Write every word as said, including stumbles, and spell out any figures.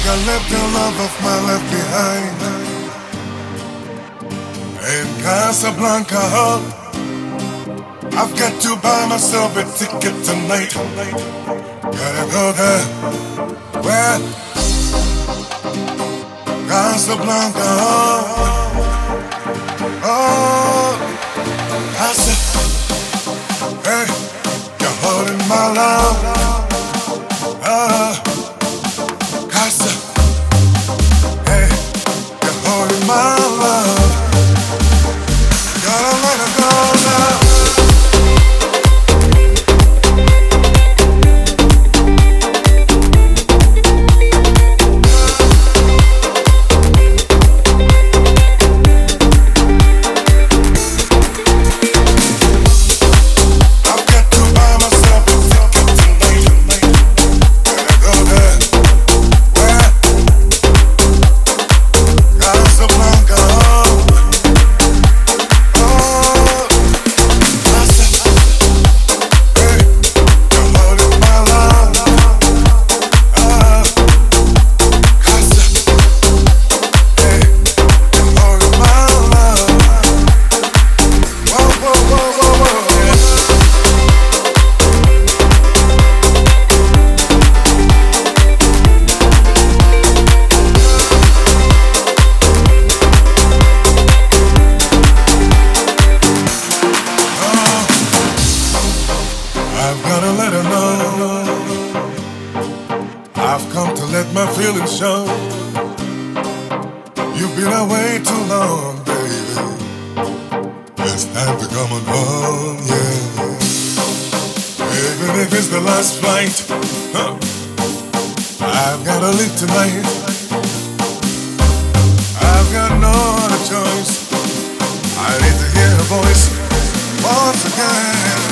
I left the love of my life behind. In Casablanca, I've got to buy myself a ticket tonight. Gotta go there. Where? Casablanca. Oh, Casa. Hey, you're holding my love. Ah. Casa, hey, you're holding my love. Gotta let her go now. I've gotta let her know I've come to let my feelings show. You've been away too long, baby. It's time to come on home, yeah. Even if it's the last flight, huh, I've gotta leave tonight. I've got no other choice. I need to hear her voice once again.